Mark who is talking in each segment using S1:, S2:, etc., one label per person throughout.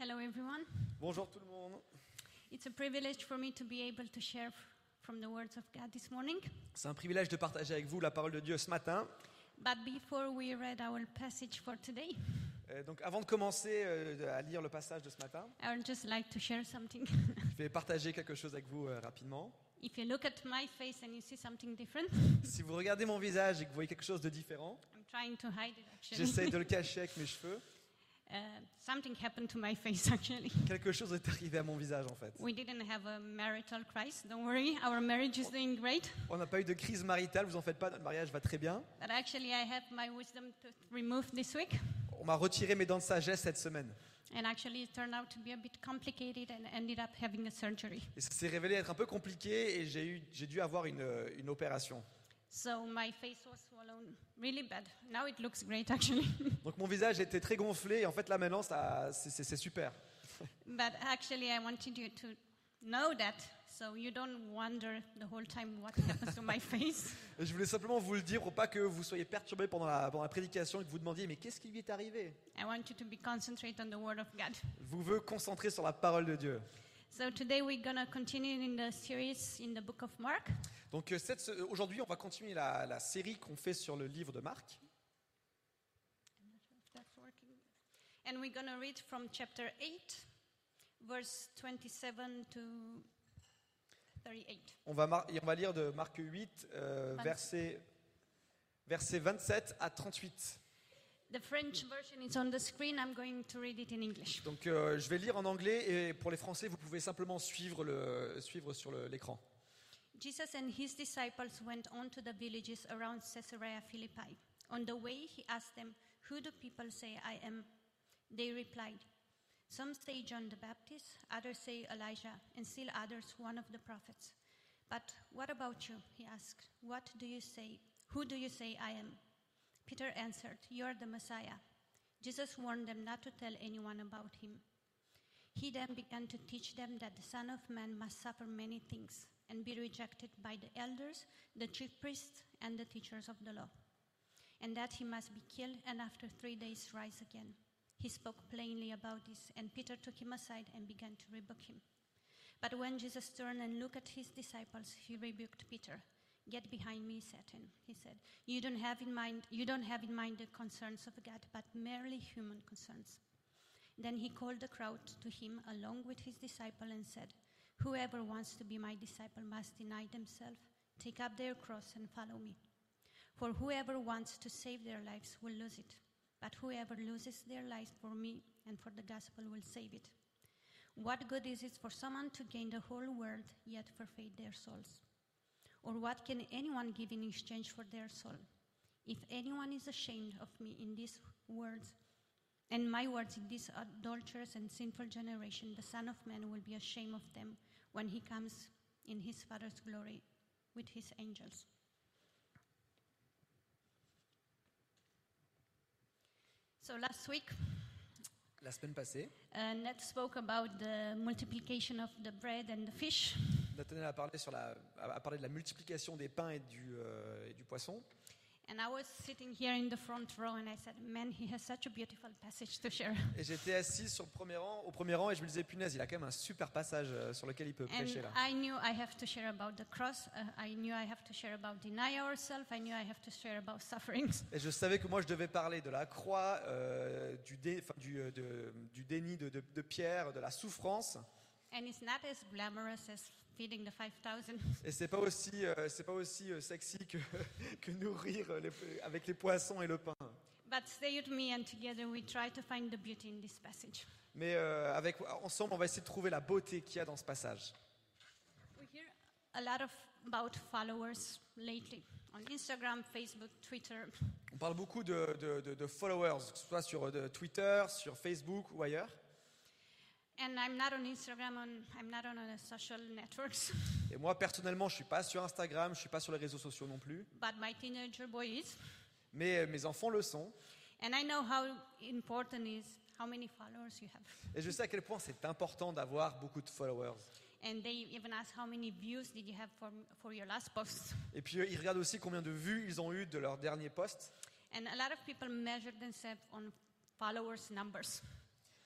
S1: Hello everyone.
S2: Bonjour tout le monde.
S1: It's a privilege for me to be able to share from the words of God this morning.
S2: C'est un privilège de partager avec vous la parole de Dieu ce matin.
S1: But before we read our passage for today,
S2: Donc avant de commencer à lire le passage de ce matin,
S1: I would just like to share something.
S2: je vais partager quelque chose avec vous rapidement.
S1: If you look at my face and you see something different,
S2: Si vous regardez mon visage et que vous voyez quelque chose de différent,
S1: I'm trying to hide it actually.
S2: j'essaie de le cacher avec mes cheveux.
S1: Something happened to my face actually.
S2: Quelque chose est arrivé à mon visage en fait.
S1: We didn't have a marital crisis, don't worry, our marriage is doing great.
S2: On n'a pas eu de crise maritale, vous en faites pas, notre mariage va très bien.
S1: But actually I have my wisdom to remove this week.
S2: On m'a retiré mes dents de sagesse cette semaine.
S1: And actually it turned out to be a bit complicated and ended up having a surgery.
S2: Et ça s'est révélé être un peu compliqué et j'ai dû avoir une opération.
S1: So my face was swollen really bad. Now it looks great actually.
S2: Donc mon visage était très gonflé et en fait là maintenant c'est super.
S1: But actually I wanted you to know that so you don't wonder the whole time what happens to my face.
S2: Et je voulais simplement vous le dire pour pas que vous soyez perturbés pendant la prédication et que vous demandiez mais qu'est-ce qui lui est arrivé?
S1: I want you to be concentrated on the word of God.
S2: Vous veux concentrer sur la parole de Dieu.
S1: So today we're going to continue in the series in the book of Mark.
S2: Donc aujourd'hui on va continuer la série qu'on fait sur le livre de Marc.
S1: I'm not sure if that's working. And we're going to read from chapter 8 verse 27 to 38.
S2: On va lire de Marc 8 versets 27 à 38.
S1: The French version is on the screen. I'm going to read it in English.
S2: Donc je vais lire en anglais et pour les Français vous pouvez simplement suivre sur l'écran.
S1: Jesus and his disciples went on to the villages around Caesarea Philippi. On the way, he asked them, "Who do people say I am?" They replied, "Some say John the Baptist, others say Elijah, and still others one of the prophets. But what about you?" he asked. "What do you say? Who do you say I am?" Peter answered, "You are the Messiah." Jesus warned them not to tell anyone about him. He then began to teach them that the Son of Man must suffer many things and be rejected by the elders, the chief priests, and the teachers of the law, and that he must be killed and after 3 days rise again. He spoke plainly about this, and Peter took him aside and began to rebuke him. But when Jesus turned and looked at his disciples, he rebuked Peter. "Get behind me, Satan," he said. You don't have in mind the concerns of God, but merely human concerns." Then he called the crowd to him along with his disciple and said, "Whoever wants to be my disciple must deny themselves, take up their cross and follow me. For whoever wants to save their lives will lose it, but whoever loses their lives for me and for the gospel will save it. What good is it for someone to gain the whole world yet forfeit their souls? Or what can anyone give in exchange for their soul? If anyone is ashamed of me in these words, and my words in this adulterous and sinful generation, the Son of Man will be ashamed of them when he comes in his Father's glory with his angels." So last week,
S2: La semaine passée,
S1: Ned spoke about the multiplication of the bread and the fish.
S2: Nathanaël a parlé de la multiplication des pains et du poisson.
S1: And I was sitting here in the front row and I said, "Man, he has such a beautiful passage to share."
S2: Et j'étais assis au premier rang et je me disais punaise, il a quand même un super passage sur lequel il peut prêcher là.
S1: And I knew I have to share about the cross. I knew I have to share about deny ourselves. I knew I have to share about sufferings.
S2: Et je savais que moi je devais parler de la croix, du déni de Pierre, de la souffrance.
S1: And it's not as glamorous as feeding the 5,000.
S2: Et c'est pas aussi sexy que nourrir avec les poissons et le pain.
S1: But stay with me and together we try to find the beauty in this passage.
S2: Mais ensemble, on va essayer de trouver la beauté qu'il y a dans ce passage.
S1: We hear a lot about followers lately on Instagram, Facebook, Twitter.
S2: On parle beaucoup de followers, que ce soit sur Twitter, sur Facebook ou ailleurs.
S1: And I'm not on Instagram, I'm not on the social networks.
S2: Et moi, personnellement, je suis pas sur Instagram, je suis pas sur les réseaux sociaux non plus.
S1: But my teenager boy is.
S2: Mais mes enfants le sont.
S1: And I know how important is how many followers you have.
S2: Et je sais à quel point c'est important d'avoir beaucoup de followers.
S1: And they even ask how many views did you have for your last post.
S2: Et puis ils regardent aussi combien de vues ils ont eu de leur dernier post.
S1: And a lot of people measure themselves on followers numbers.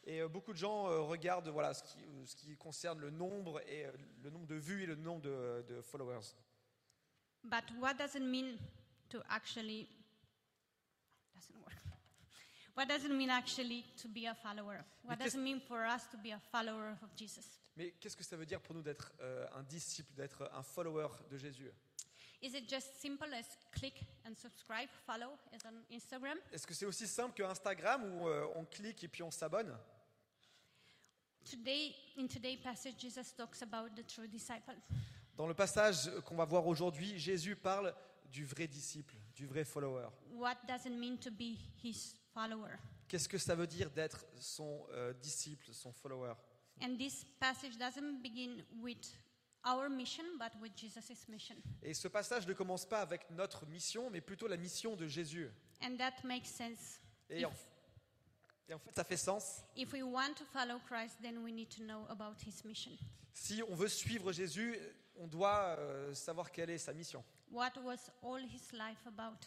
S2: Et beaucoup de gens regardent voilà, ce qui concerne le nombre, et le nombre de vues et le nombre de followers.
S1: But what does it mean to actually... Doesn't work. What does it mean actually to be a follower? What does it mean for us to be a follower of Jesus?
S2: Mais qu'est-ce que ça veut dire pour nous d'être un disciple, d'être un follower de Jésus?
S1: Is it just simple as click and subscribe, follow, as on Instagram?
S2: Est-ce que c'est aussi simple que Instagram où on clique et puis on s'abonne?
S1: In today's passage, Jesus talks about the true disciple.
S2: Dans le passage qu'on va voir aujourd'hui, Jésus parle du vrai disciple, du vrai follower.
S1: What does it mean to be his follower?
S2: Qu'est-ce que ça veut dire d'être son disciple, son follower?
S1: And this passage doesn't begin with our mission, but with Jesus' mission.
S2: Et ce passage ne commence pas avec notre mission, mais plutôt la mission de Jésus.
S1: And that makes sense.
S2: Et en fait, ça fait sens.
S1: If we want to follow Christ, then we need to know about his mission.
S2: Si on veut suivre Jésus, on doit savoir quelle est sa mission.
S1: What was all his life about?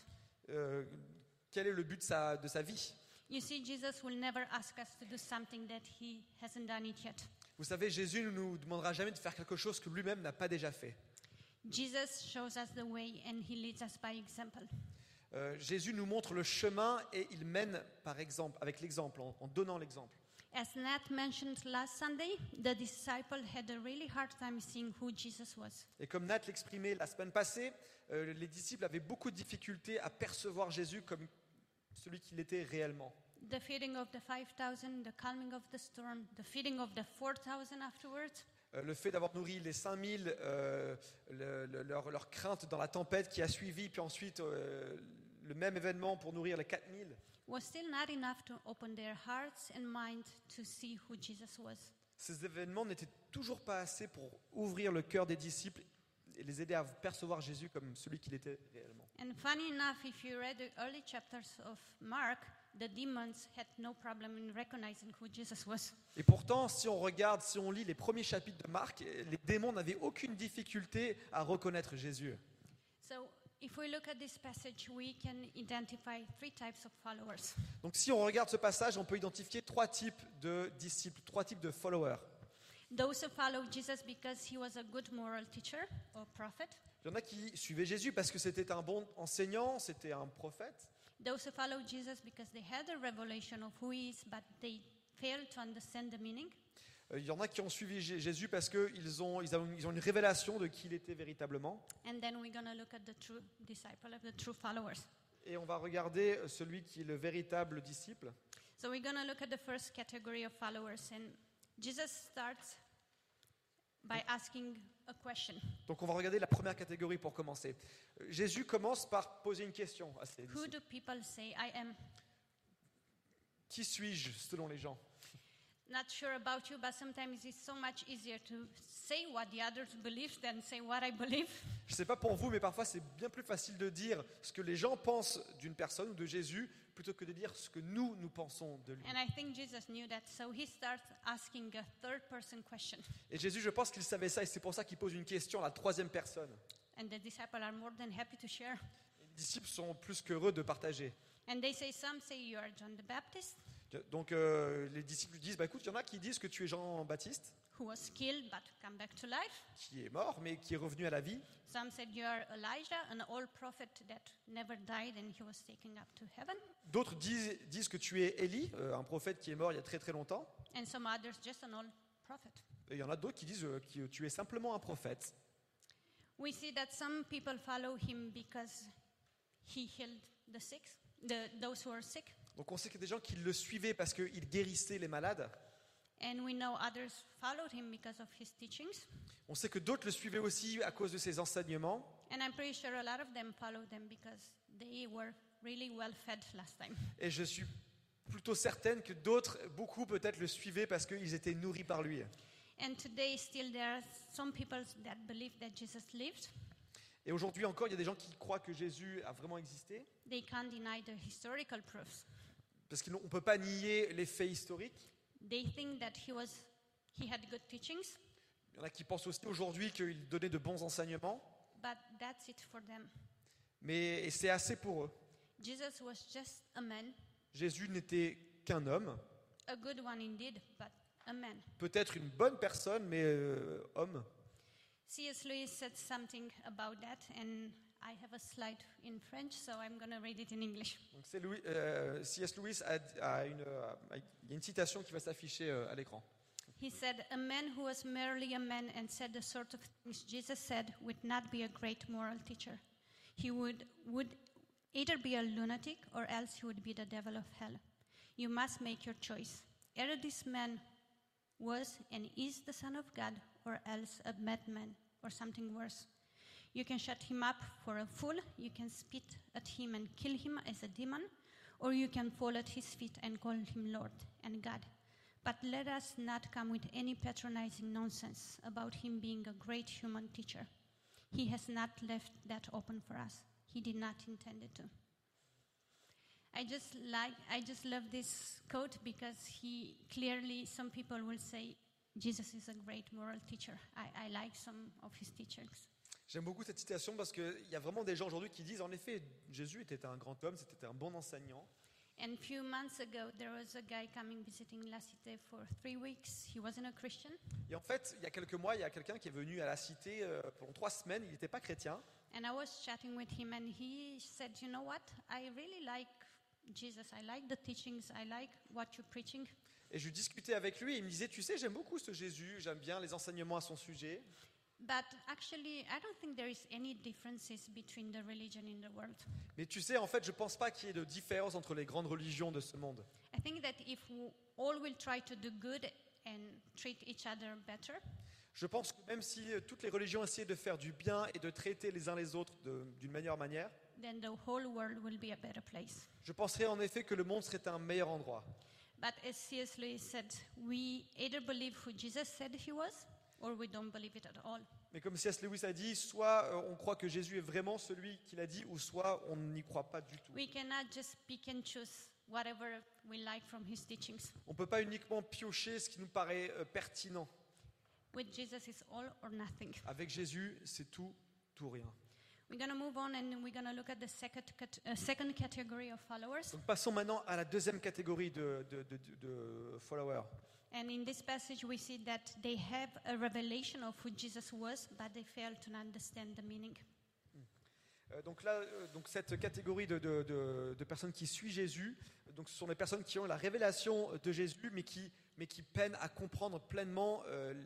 S2: Quel est le but de sa vie?
S1: You see, Jesus will never ask us to do something that he hasn't done it yet.
S2: Vous savez, Jésus ne nous demandera jamais de faire quelque chose que lui-même n'a pas déjà fait.
S1: Jesus shows us the way and he leads us by example.
S2: Jésus nous montre le chemin et il mène par exemple, avec l'exemple, en donnant l'exemple.
S1: As Nat mentioned last Sunday, the disciple had a really hard time seeing who Jesus was.
S2: Et comme Nat l'exprimait la semaine passée, les disciples avaient beaucoup de difficultés à percevoir Jésus comme celui qu'il était réellement.
S1: The feeding of the 5,000, the calming of the storm, the feeding of the 4,000 afterwards.
S2: Le fait d'avoir nourri les 5000, leur crainte dans la tempête qui a suivi, puis ensuite le même événement pour nourrir les 4000.
S1: Was still not enough to open their hearts and mind to see who Jesus was.
S2: Ces événements n'étaient toujours pas assez pour ouvrir le cœur des disciples et les aider à percevoir Jésus comme celui qu'il était réellement.
S1: And funny enough, if you read the early chapters of Mark, the demons had no problem in recognizing who Jesus was.
S2: Et pourtant, si on lit les premiers chapitres de Marc, les démons n'avaient aucune difficulté à reconnaître Jésus.
S1: So, if we look at this passage, we can identify 3 types of followers.
S2: Donc si on regarde ce passage, on peut identifier 3 types de disciples, 3 types de followers.
S1: Those who follow Jesus because he was a good moral teacher or prophet.
S2: Il y en a qui suivaient Jésus parce que c'était un bon enseignant, c'était un prophète.
S1: Those who follow Jesus because they had a revelation of who he is, but they failed to understand the meaning.
S2: Il y en a qui ont suivi Jésus parce qu'ils ont une révélation de qui il était véritablement.
S1: And then we're going to look at the true disciple, of the true followers.
S2: Et on va regarder celui qui est le véritable disciple.
S1: So we're going to look at the first category of followers. And Jesus starts by asking a question.
S2: Donc on va regarder la première catégorie pour commencer. Jésus commence par poser une question à ses
S1: Who
S2: disciples.
S1: do people say I am?
S2: Qui suis-je selon les gens?
S1: Not sure about you, but sometimes it's so much easier to say what the others believe than say what I believe.
S2: Je ne sais pas pour vous, mais parfois c'est bien plus facile de dire ce que les gens pensent d'une personne ou de Jésus plutôt que de dire ce que nous pensons de lui.
S1: And I think Jesus knew that, so he starts asking a third-person question.
S2: Et Jésus, je pense qu'il savait ça et c'est pour ça qu'il pose une question à la troisième personne.
S1: And the disciples are more than happy to share.
S2: Les disciples sont plus qu'heureux de partager.
S1: And they say, some say you are John the Baptist,
S2: Donc les disciples disent, écoute, il y en a qui disent que tu es Jean-Baptiste,
S1: who was killed but come back to life.
S2: qui est mort mais qui est revenu à la vie.
S1: Some said you are Elijah, an old prophet that never died and he was taken up to heaven.
S2: D'autres disent que tu es Élie, un prophète qui est mort il y a très très longtemps.
S1: And some others, just an old prophet.
S2: Et il y en a d'autres qui disent que tu es simplement un prophète.
S1: We see that some people follow him because he healed the sick, those who are sick.
S2: Donc on sait qu'il y a des gens qui le suivaient parce qu'il guérissait les malades.
S1: And we know others followed him because of his teachings.
S2: On sait que d'autres le suivaient aussi à cause de ses enseignements.
S1: And I'm pretty sure a lot of them followed them because they were really well fed last time.
S2: Et je suis plutôt certaine que d'autres, beaucoup peut-être, le suivaient parce qu'ils étaient nourris par lui.
S1: And today still there are some people that believe that Jesus lived.
S2: Et aujourd'hui encore, il y a des gens qui croient que Jésus a vraiment existé.
S1: They can't deny the historical proofs.
S2: Parce qu'on ne peut pas nier les faits historiques.
S1: They think that he had good teachings,
S2: Il y en a qui pensent aussi aujourd'hui qu'il donnait de bons enseignements.
S1: but that's it for them.
S2: Mais c'est assez pour eux.
S1: Jesus was just a man
S2: Jésus n'était qu'un homme
S1: A good one indeed, but a man.
S2: Peut-être une bonne personne, mais homme.
S1: C.S. Lewis said something about that, and I have a slide in French, so I'm going to read it in English.
S2: Donc C.S. Lewis il y a une citation qui va s'afficher à l'écran.
S1: He said, "A man who was merely a man and said the sort of things Jesus said would not be a great moral teacher. He would either be a lunatic or else he would be the devil of hell. You must make your choice. Either this man was and is the Son of God, or else a madman or something worse. You can shut him up for a fool, you can spit at him and kill him as a demon, or you can fall at his feet and call him Lord and God. But let us not come with any patronizing nonsense about him being a great human teacher. He has not left that open for us. He did not intend it to." I just love this quote because he clearly, some people will say, Jesus is a great moral teacher. I like some of his teachings.
S2: J'aime beaucoup cette citation parce qu'il y a vraiment des gens aujourd'hui qui disent, en effet, Jésus était un grand homme, c'était un bon enseignant.
S1: And a few months ago, there was a guy coming visiting La Cité for 3 weeks. He wasn't a Christian.
S2: Et en fait, il y a quelques mois, il y a quelqu'un qui est venu à la cité pendant 3 semaines, il n'était pas chrétien.
S1: And I was chatting with him, and he said, "You know what? I really like Jesus. I like the teachings. I like what you're preaching."
S2: Et je discutais avec lui et il me disait, tu sais, j'aime beaucoup ce Jésus, j'aime bien les enseignements à son sujet.
S1: But actually, I don't think there is any differences between the religion in the world.
S2: Mais tu sais, en fait, je ne pense pas qu'il y ait de différence entre les grandes religions de ce monde.
S1: I think that if all will try to do good and treat each other better,
S2: Je pense que même si toutes les religions essaient de faire du bien et de traiter les uns les autres d'une meilleure manière,
S1: then the whole world will be a better place.
S2: je penserais en effet que le monde serait un meilleur endroit.
S1: But as C.S. Lewis said, we either believe who Jesus said he was, or we don't believe it at all.
S2: Mais comme C.S. Lewis a dit, soit on croit que Jésus est vraiment celui qu'il a dit, ou soit on n'y croit pas du tout.
S1: We cannot just pick and choose whatever we like from his teachings.
S2: On ne peut pas uniquement piocher ce qui nous paraît pertinent.
S1: With Jesus, it's all or nothing.
S2: Avec Jésus, c'est tout, tout rien.
S1: We're going to move on and we're going to look at the second category of followers.
S2: Donc passons maintenant à la deuxième catégorie de followers.
S1: And in this passage, we see that they have a revelation of who Jesus was, but they fail to understand the meaning.
S2: Donc là, cette catégorie de personnes qui suivent Jésus, donc ce sont des personnes qui ont la révélation de Jésus, mais qui peinent à comprendre pleinement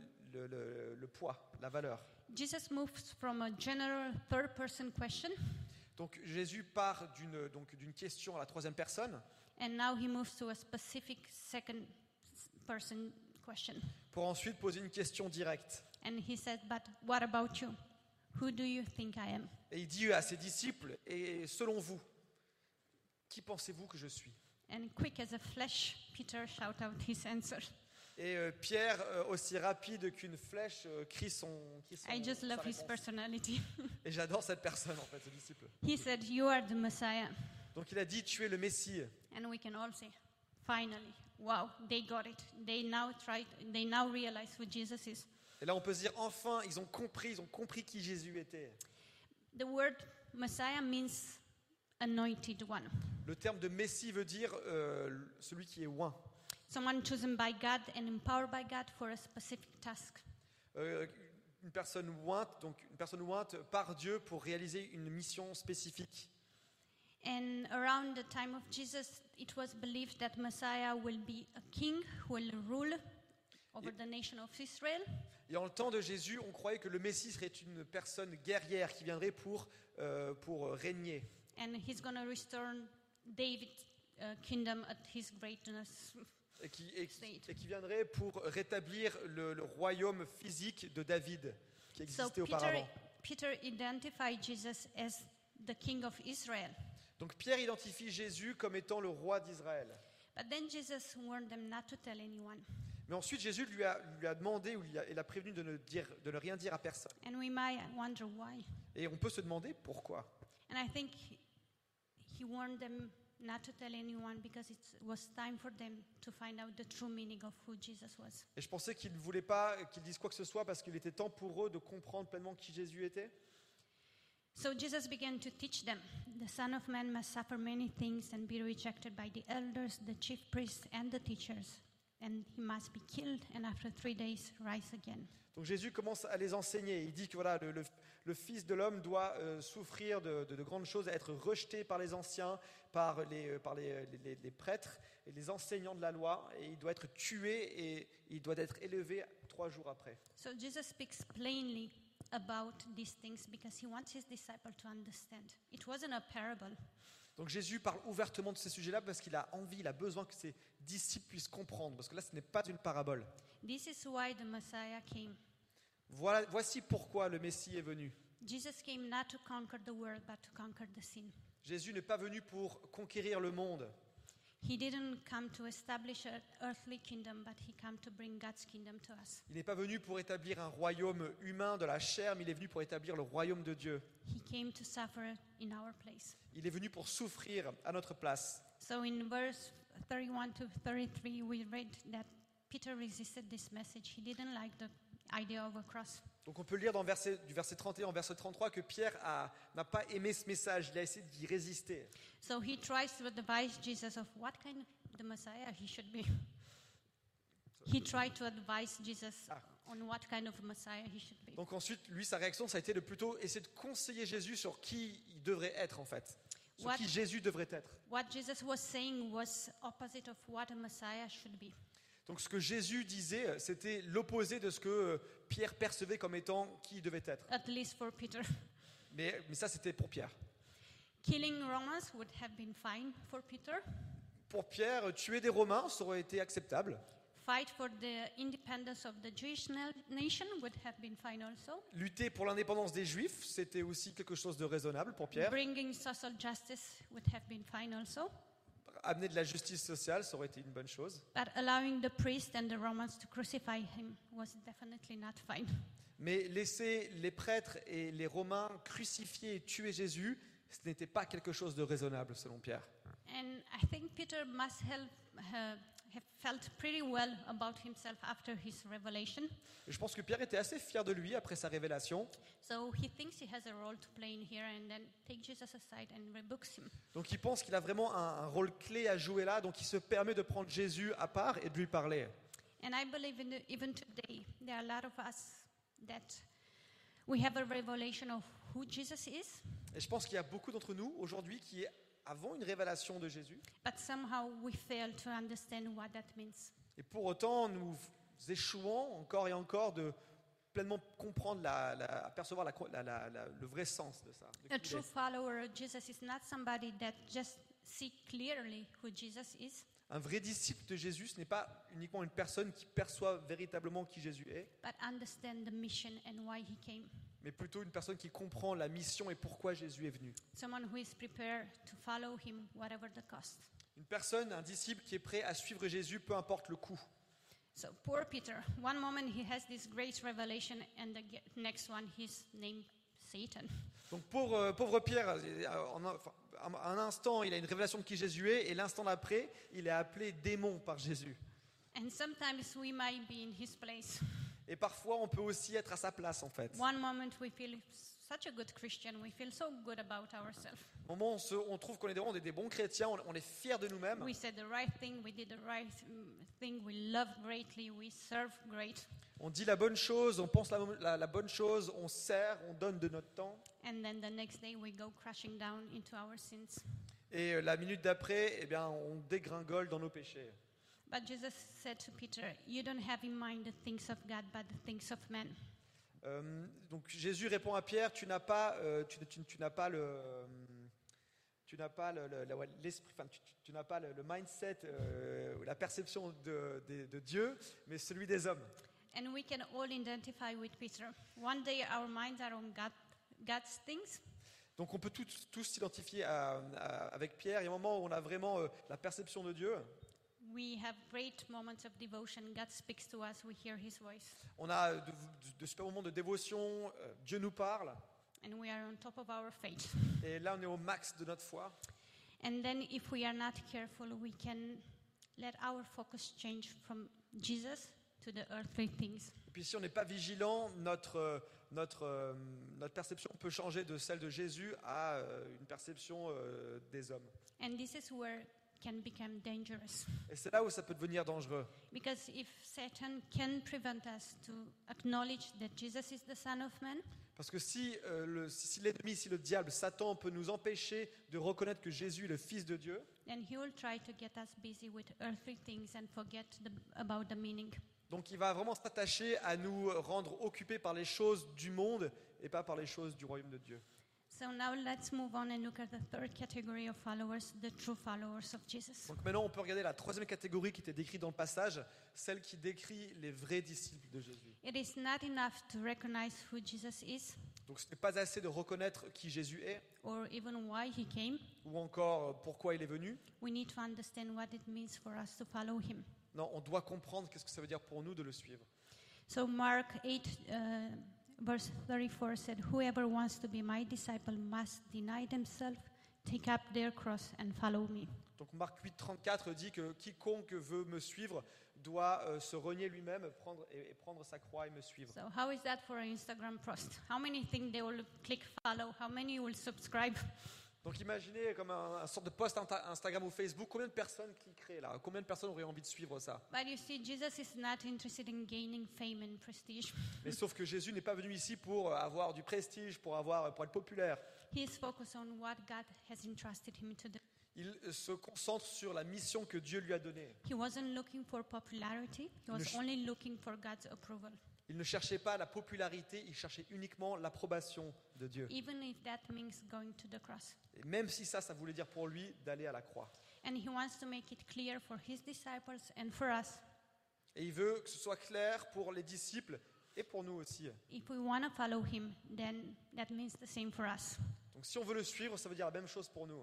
S2: le poids, la valeur.
S1: Jesus moves from a general third-person question,
S2: Donc Jésus part d'une question à la troisième personne,
S1: and now he moves to a specific second-person question.
S2: pour ensuite poser une question directe.
S1: And he said, "But what about you? Who do you think I am?"
S2: Et il dit à ses disciples, et selon vous, qui pensez-vous que je suis ?
S1: And quick as a flash, Peter shout out his answer.
S2: Et Pierre, aussi rapide qu'une flèche, crie son
S1: I just
S2: sa
S1: love his
S2: réponse.
S1: personality.
S2: Et j'adore cette personne, en fait, ce disciple.
S1: He said, "You are the Messiah."
S2: Donc il a dit, tu es le Messie.
S1: And we can all say, finally, wow, they got it. They now realize who Jesus is.
S2: Et là, on peut se dire, enfin, ils ont compris qui Jésus était.
S1: The word Messiah means anointed one.
S2: Le terme de Messie veut dire celui qui est oint.
S1: Someone chosen by God and empowered by God for a specific task.
S2: Une personne ointe par Dieu pour réaliser une mission spécifique.
S1: And around the time of Jesus, it was believed that Messiah will be a king who will rule over the nation of Israel.
S2: Et en le temps de Jésus, on croyait que le Messie serait une personne guerrière qui viendrait pour régner.
S1: And he's going to restore David's kingdom at his greatness.
S2: Et qui viendrait pour rétablir le royaume physique de David qui existait auparavant.
S1: Peter identified Jesus as the king of Israel.
S2: Donc Pierre identifie Jésus comme étant le roi d'Israël.
S1: But then Jesus warned them not to tell anyone.
S2: Mais ensuite Jésus lui a demandé, ou il a prévenu de ne rien dire à personne.
S1: And we might wonder why.
S2: Et on peut se demander pourquoi.
S1: And I think he warned them not to tell anyone because it was time for them to find out the true meaning of who Jesus was.
S2: Et je pensais qu'il ne voulait pas qu'ils disent quoi que ce soit parce qu'il était temps pour eux de comprendre pleinement qui Jésus était.
S1: So Jesus began to teach them, "The Son of Man must suffer many things and be rejected by the elders, the chief priests, and the teachers, and he must be killed and after 3 days rise again."
S2: Donc Jésus commence à les enseigner. Il dit que voilà, le Fils de l'homme doit souffrir de grandes choses, être rejeté par les anciens, par les prêtres et les enseignants de la loi, et il doit être tué et il doit être élevé 3 jours après.
S1: So Jesus speaks plainly about these things because he wants his disciples to understand. It wasn't a parable.
S2: Donc Jésus parle ouvertement de ces sujets-là parce qu'il a envie, il a besoin que ses disciples puissent comprendre, parce que là ce n'est pas une parabole.
S1: This is why the Messiah came.
S2: Voici pourquoi le Messie est venu.
S1: Jesus came not to conquer the world but to conquer the sin.
S2: Jésus n'est pas venu pour conquérir le monde.
S1: He didn't come to establish an earthly kingdom, but he came to bring God's kingdom to us.
S2: Il n'est pas venu pour établir un royaume humain de la chair, mais il est venu pour établir le royaume de Dieu.
S1: He came to suffer in our place.
S2: Il est venu pour souffrir à notre place.
S1: So in verse 31 to 33, we read that Peter resisted this message. He didn't like the idea of a cross.
S2: Donc on peut lire du verset 31 au verset 33 que Pierre n'a pas aimé ce message, il a essayé d'y résister.
S1: So he tries to advise Jesus of what kind of the Messiah he should be. He tried to advise Jesus on what kind of Messiah he should be.
S2: Donc ensuite, lui, sa réaction, ça a été de plutôt essayer de conseiller Jésus sur qui il devrait être en fait. Sur qui Jésus devrait être.
S1: What Jesus was saying was opposite of what a Messiah should be.
S2: Donc ce que Jésus disait, c'était l'opposé de ce que Pierre percevait comme étant qui il devait être.
S1: At least for Peter.
S2: Mais ça, c'était pour Pierre.
S1: Killing Romans would have been fine for Peter.
S2: Pour Pierre, tuer des Romains, ça aurait été acceptable.
S1: Fight for the independence of the Jewish nation would have been fine also.
S2: Lutter pour l'indépendance des Juifs, c'était aussi quelque chose de raisonnable pour Pierre.
S1: Bringing social justice would have been fine also.
S2: Amener de la justice sociale, ça aurait été une bonne chose.
S1: But allowing the priests and the Romans to crucify him was definitely not fine.
S2: Mais laisser les prêtres et les Romains crucifier et tuer Jésus, ce n'était pas quelque chose de raisonnable selon Pierre.
S1: And I think Peter must have felt pretty well about himself after his revelation.
S2: Et je pense que Pierre était assez fier de lui après sa révélation.
S1: So he thinks he has a role to play in here and then take Jesus aside and rebukes him.
S2: Donc il pense qu'il a vraiment un rôle clé à jouer là, donc il se permet de prendre Jésus à part et de lui parler.
S1: And I believe even today there are a lot of us that we have a revelation of who Jesus is,
S2: Et je pense qu'il y a beaucoup d'entre nous aujourd'hui qui avons une révélation de Jésus.
S1: but somehow we fail to understand what that means.
S2: Et pour autant, nous échouons encore et encore de pleinement comprendre, apercevoir le vrai sens de ça. de
S1: A
S2: qui il
S1: true
S2: est.
S1: follower of Jesus is not somebody that just see clearly who Jesus is,
S2: Un vrai disciple de Jésus, ce n'est pas uniquement une personne qui perçoit véritablement qui Jésus est,
S1: but understand the mission and why he came.
S2: mais plutôt une personne qui comprend la mission et pourquoi Jésus est venu.
S1: Someone who is prepared to follow him whatever the cost.
S2: Une personne, un disciple qui est prêt à suivre Jésus, peu importe le coût.
S1: So poor Peter, one moment he has this great revelation and the next one he's named Satan.
S2: Donc pauvre Pierre, un instant il a une révélation de qui Jésus est, et l'instant d'après il est appelé démon par Jésus.
S1: And sometimes we might be in his place.
S2: Et parfois on peut aussi être à sa place en fait.
S1: One moment we feel such a good Christian, we feel so good about ourselves.
S2: Au moment où on trouve qu'on est des bons chrétiens, on est fiers de nous-mêmes.
S1: We said the right thing, we did the right thing, we love greatly, we serve great.
S2: On dit la bonne chose, on pense la bonne chose, on sert, on donne de notre temps.
S1: And then the next day we go crashing down into our sins.
S2: Et la minute d'après, eh bien, on dégringole dans nos péchés.
S1: But Jesus said to Peter, you don't have in mind the things of God, but the things of men.
S2: Donc Jésus répond à Pierre, tu n'as pas l'esprit, enfin, tu n'as pas le mindset, la perception de Dieu, mais celui des hommes.
S1: And we can all identify with Peter. One day our minds are on God's things.
S2: Donc on peut tous s'identifier avec Pierre. Il y a un moment où on a vraiment la perception de Dieu.
S1: We have great moments of devotion. God speaks to us. We hear His voice.
S2: On a de super moments de dévotion. Dieu nous parle.
S1: And we are on top of our faith.
S2: Et là, on est au max de notre foi.
S1: And then if we are not careful, we can let our focus change from Jesus to the earthly things.
S2: Et puis si on n'est pas vigilant, notre notre perception peut changer de celle de Jésus à une perception des hommes.
S1: And this is where it can become dangerous.
S2: Et c'est là où ça peut devenir dangereux.
S1: Because if Satan can prevent us to acknowledge that Jesus is the Son of Man,
S2: Parce que si l'ennemi, si le diable, Satan peut nous empêcher de reconnaître que Jésus est le Fils de Dieu,
S1: then he will try to get us busy with earthly things and forget about the meaning.
S2: donc il va vraiment s'attacher à nous rendre occupés par les choses du monde et pas par les choses du royaume de Dieu.
S1: So now let's move on and look at the third category of followers, the true followers of Jesus.
S2: Donc maintenant, on peut regarder la troisième catégorie qui était décrite dans le passage, celle qui décrit les vrais disciples de Jésus.
S1: It is not enough to recognize who Jesus is
S2: Donc ce n'est pas assez de reconnaître qui Jésus est,
S1: or even why he came.
S2: ou encore pourquoi il est venu.
S1: We need to understand what it means for us to follow him.
S2: Non, on doit comprendre qu'est-ce que ça veut dire pour nous de le suivre.
S1: So Mark 8, verse 34 said, "Whoever wants to be my disciple must deny themselves, take up their cross and follow me."
S2: Donc Marc 8, 34 dit que quiconque veut me suivre doit se renier lui-même, prendre sa croix et me suivre.
S1: So how is that for an Instagram post? How many think they will click follow? How many will subscribe?
S2: Donc imaginez comme un sorte de post Instagram ou Facebook, combien de personnes cliqueraient là? Combien de personnes auraient envie de suivre ça?
S1: But you see, Jesus is not interested in gaining fame and prestige.
S2: Mais sauf que Jésus n'est pas venu ici pour avoir du prestige, pour être populaire.
S1: He is focused on what God has entrusted him to do.
S2: Il se concentre sur la mission que Dieu lui a donnée.
S1: He wasn't looking for popularity. He was
S2: Ne-
S1: only looking for God's approval.
S2: Il ne cherchait pas la popularité, il cherchait uniquement l'approbation de Dieu.
S1: Even if that means going to the cross.
S2: Et même si ça voulait dire pour lui d'aller à la croix.
S1: And he wants to make it clear for his disciples and for us.
S2: Et il veut que ce soit clair pour les disciples et pour nous aussi.
S1: If we want to follow him, then that means the same for us.
S2: Donc si on veut le suivre, ça veut dire la même chose pour nous.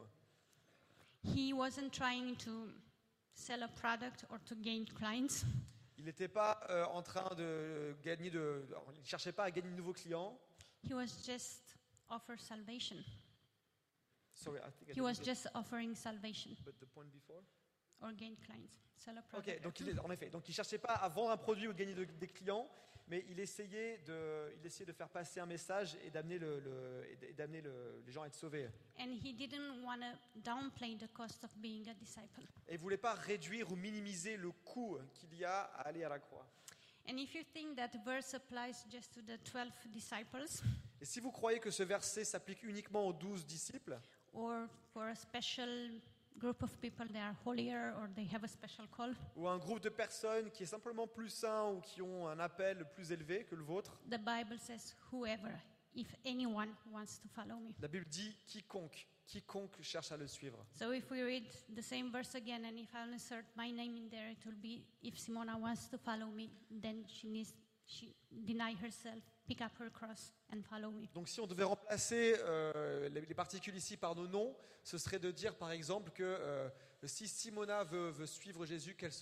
S1: He wasn't trying to sell a product or to gain clients.
S2: Il n'était pas en train de gagner il ne cherchait pas à gagner de nouveaux clients.
S1: He was just offer salvation.
S2: Sorry, I think I
S1: He was
S2: didn't get-
S1: just offering salvation
S2: but the point before.
S1: or gain clients. Sell a product.
S2: Ok, donc en effet, donc il cherchait pas à vendre un produit ou de gagner des clients, mais il essayait de faire passer un message et d'amener les gens à être sauvés.
S1: And he didn't want to downplay the cost of being a disciple.
S2: Et il voulait pas réduire ou minimiser le coût qu'il y a à aller à la croix.
S1: And if you think that verse applies just to the 12 disciples
S2: Et si vous croyez que ce verset s'applique uniquement aux 12 disciples,
S1: or for a special group of people that are holier or they have a special call,
S2: ou un groupe de personnes qui est simplement plus sain ou qui ont un appel plus élevé que le vôtre,
S1: the Bible says whoever, if anyone wants to follow me.
S2: la Bible dit quiconque cherche à le suivre.
S1: So if we read the same verse again and if I insert my name in there, it will be if Simona wants to follow me, then she deny herself, pick up her cross and follow me.
S2: Donc si on devait remplacer les particules ici par nos noms, ce serait de dire par exemple que si Simona veut suivre Jésus, qu'elle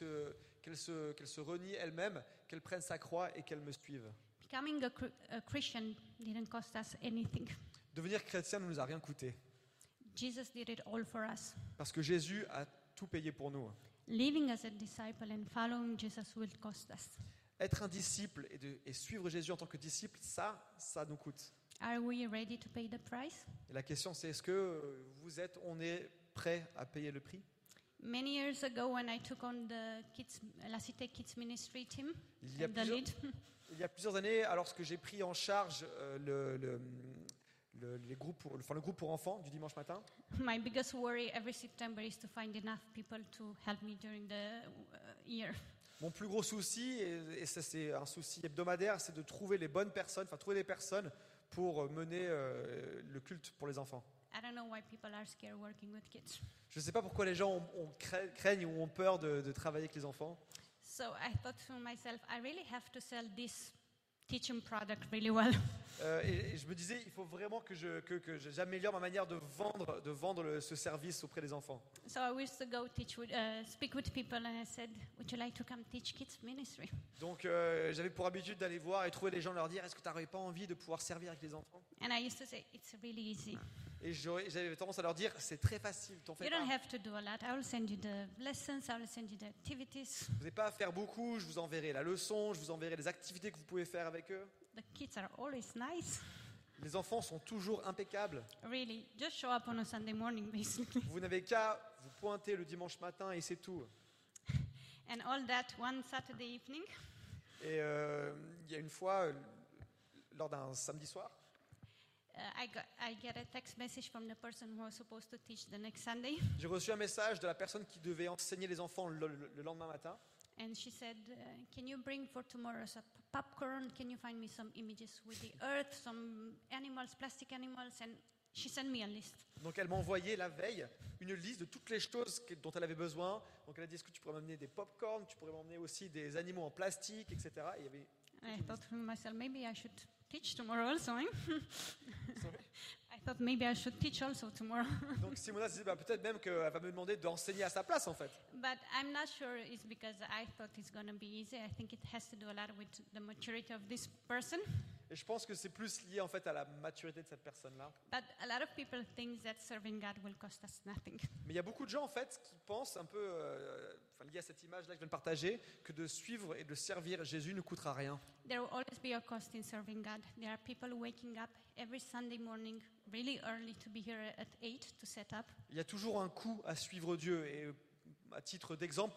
S2: se renie elle-même, qu'elle prenne sa croix et qu'elle me suive.
S1: Becoming a Christian didn't cost us anything.
S2: Devenir chrétien ne nous a rien coûté,
S1: Jesus did it all for us.
S2: parce que Jésus a tout payé pour nous.
S1: Living as a disciple and following Jesus will cost us.
S2: Être un disciple et suivre Jésus en tant que disciple, ça nous coûte.
S1: Are we ready to pay the price?
S2: Et la question c'est, est-ce que on est prêt à payer le prix?
S1: Many years ago, when I took on La Cité Kids Ministry team,
S2: Il y a
S1: the
S2: plusieurs-
S1: lead,
S2: Il y a plusieurs années, alors que j'ai pris en charge le groupe pour enfants du dimanche matin,
S1: my biggest worry every September is to find enough people to help me during the year.
S2: mon plus gros souci, et ça c'est un souci hebdomadaire, c'est de trouver les bonnes personnes, trouver des personnes pour mener le culte pour les enfants.
S1: I don't know why people are scared working with kids.
S2: Je ne sais pas pourquoi les gens craignent ou ont peur de travailler avec les enfants.
S1: So I thought to myself, I really have to sell this teaching product really well.
S2: Et je me disais, il faut vraiment que j'améliore ma manière de vendre ce service auprès des enfants.
S1: So I used to go speak with people, and I said, "Would you like to come teach kids ministry?"
S2: Donc j'avais pour habitude d'aller voir et trouver les gens, leur dire, est-ce que tu n'aurais pas envie de pouvoir servir avec les enfants?
S1: And I used to say, "It's really easy.
S2: Et j'avais tendance à leur dire, c'est très facile, t'en fais
S1: You
S2: pas.
S1: don't have to do a lot. I will send you the lessons. I will send you the activities.
S2: Vous n'avez pas à faire beaucoup, je vous enverrai la leçon, je vous enverrai les activités que vous pouvez faire avec eux.
S1: The the kids are always nice.
S2: Les enfants sont toujours impeccables.
S1: Really, just show up on a Sunday morning, basically.
S2: Vous n'avez qu'à vous pointer le dimanche matin et c'est tout.
S1: And all that one Saturday evening,
S2: Et il y a une fois, lors d'un samedi soir,
S1: I get a text message from the person who was supposed to teach the next Sunday.
S2: j'ai reçu un message de la personne qui devait enseigner les enfants le lendemain matin.
S1: And she said, can you bring for tomorrow some popcorn? Can you find me some images with the earth, some animals, plastic animals? And she sent me a list.
S2: Donc elle m'a envoyé la veille une liste de toutes les choses dont elle avait besoin. Donc elle a dit, est-ce que tu pourrais m'amener des pop-corn, tu pourrais m'emmener aussi des animaux en plastique, etc. Et il y avait...
S1: And I thought to myself, maybe I should teach tomorrow also. Eh?
S2: Sorry.
S1: I thought maybe I should teach also tomorrow.
S2: Donc Simona se disait, peut-être même qu'elle va me demander d'enseigner à sa place en fait.
S1: But I'm not sure it's because I thought it's going to be easy. I think it has to do a lot with the maturity of this person.
S2: Et je pense que c'est plus lié en fait à la maturité de cette personne-là.
S1: But a lot of people think that serving God will cost us nothing.
S2: Mais il y a beaucoup de gens en fait qui pensent un peu, lié à cette image-là que je viens de partager, que de suivre et de servir Jésus ne coûtera rien.
S1: There will always be a cost in serving God. There are people waking up every Sunday morning really early to be here at 8 to set up.
S2: Il y a toujours un coût à suivre Dieu. Et à titre d'exemple,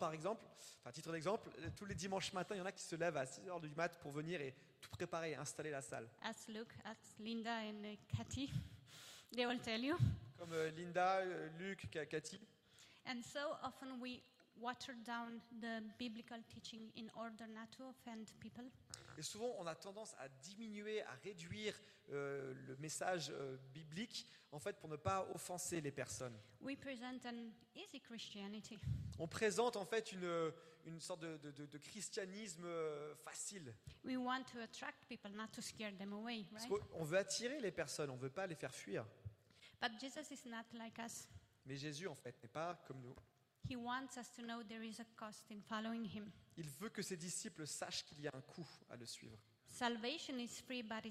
S2: tous les dimanches matins, il y en a qui se lèvent à 6h du mat pour venir et tout préparer et installer la salle.
S1: As Luke, as Linda and Kathy, they will tell you.
S2: Comme Linda, Luc, Cathy.
S1: And so often we water down the biblical teaching in order not to offend people.
S2: Et souvent, on a tendance à diminuer, à réduire le message biblique, en fait, pour ne pas offenser les personnes.
S1: We present an easy Christianity.
S2: On présente en fait une sorte de christianisme facile.
S1: We want to attract people, not to scare them away,
S2: Parce
S1: right?
S2: qu'on veut attirer les personnes, on ne veut pas les faire fuir.
S1: But Jesus is not like us.
S2: Mais Jésus, en fait, n'est pas comme nous.
S1: He wants us to know there is a cost in following him.
S2: Il veut que ses disciples sachent qu'il y a un coût à le suivre.
S1: Salvation is free, but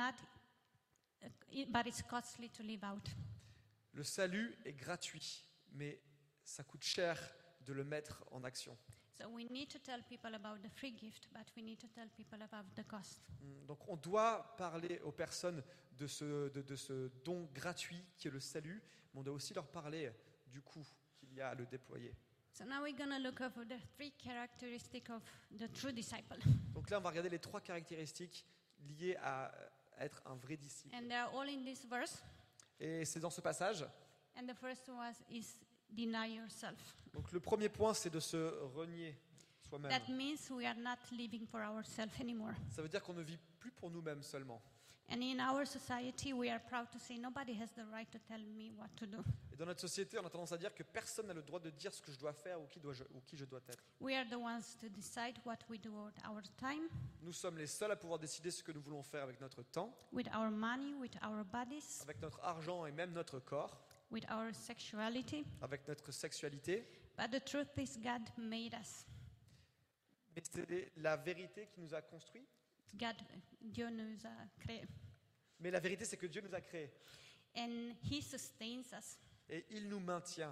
S1: it's costly to live out.
S2: Le salut est gratuit, mais ça coûte cher de le mettre en action.
S1: So we need to tell people about the free gift, but we need to tell people about the cost.
S2: Donc on doit parler aux personnes de ce don gratuit qui est le salut, mais on doit aussi leur parler du coût qu'il y a à le déployer.
S1: So now we're going to look over the 3 characteristics of the true disciple.
S2: Donc là, on va regarder les 3 caractéristiques liées à être un vrai disciple.
S1: And they are all in this verse.
S2: Et c'est dans ce passage.
S1: And the first one is deny yourself.
S2: Donc le premier point, c'est de se renier soi-même.
S1: That means we are not living for ourselves anymore.
S2: Ça veut dire qu'on ne vit plus pour nous-mêmes seulement.
S1: And in our society, we are proud to say nobody has the right to tell me what to do.
S2: Et dans notre société, on a tendance à dire que personne n'a le droit de dire ce que je dois faire ou qui je dois être.
S1: We are the ones to decide what we do with our time,
S2: Nous sommes les seuls à pouvoir décider ce que nous voulons faire avec notre temps,
S1: with our money, with our bodies,
S2: avec notre argent et même notre corps,
S1: with our sexuality.
S2: avec notre sexualité.
S1: But the truth is, God made us.
S2: Mais c'est la vérité qui nous a construits.
S1: Dieu nous a créés.
S2: Mais la vérité, c'est que Dieu nous a créés.
S1: And He sustains us.
S2: Et il nous maintient.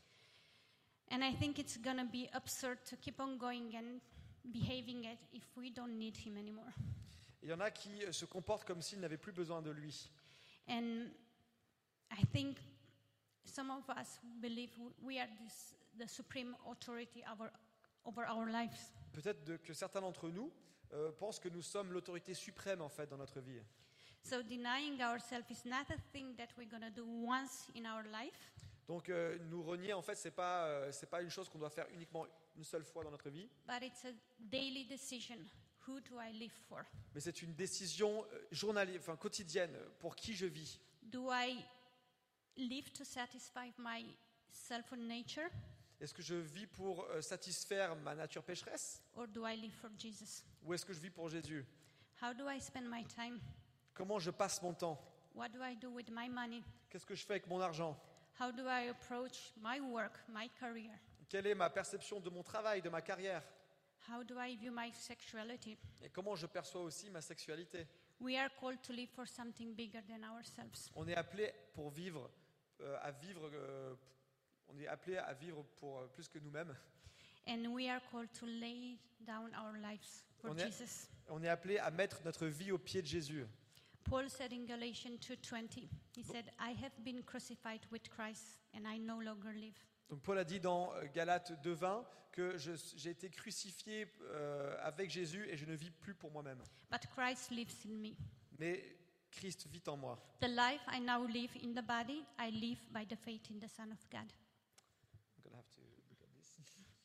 S1: And I think it's going to be absurd to keep on going and behaving it if we don't need Him anymore.
S2: Il y en a qui se comportent comme s'ils n'avaient plus besoin de lui.
S1: And I think some of us believe we are the supreme authority over our lives.
S2: Peut-être que certains d'entre nous pensent que nous sommes l'autorité suprême en fait dans notre vie.
S1: So denying ourselves is not a thing that we're going to do once in our life.
S2: Donc nous renier en fait c'est pas une chose qu'on doit faire uniquement une seule fois dans notre vie,
S1: But it's a daily decision. Who do I live for?
S2: mais c'est une décision journalière, quotidienne pour qui je vis.
S1: Do I live to satisfy my self nature,
S2: Est-ce que je vis pour satisfaire ma nature pécheresse
S1: or do I live for Jesus?
S2: ou est-ce que je vis pour Jésus?
S1: How do I spend my time?
S2: Comment je passe mon temps?
S1: What do I do with my money?
S2: Qu'est-ce que je fais avec mon argent?
S1: How do I approach my work, my career?
S2: Quelle est ma perception de mon travail, de ma carrière?
S1: How do I view my sexuality?
S2: Et comment je perçois aussi ma sexualité?
S1: We are called to live for something bigger than ourselves.
S2: On est appelé pour vivre, on est appelé à vivre pour plus que nous-mêmes.
S1: And we are called to lay down our lives for
S2: On est-
S1: Jesus.
S2: On est appelé à mettre notre vie au pied de Jésus.
S1: Paul said in Galatians 2:20, he said, I have been crucified with Christ, and I no longer live.
S2: Donc Paul a dit dans Galates 2:20 que j'ai été crucifié avec Jésus et je ne vis plus pour moi-même.
S1: But Christ lives in me.
S2: Mais Christ vit en moi.
S1: The life I now live in the body, I live by the faith in the Son of God.
S2: I'm gonna have to look at this.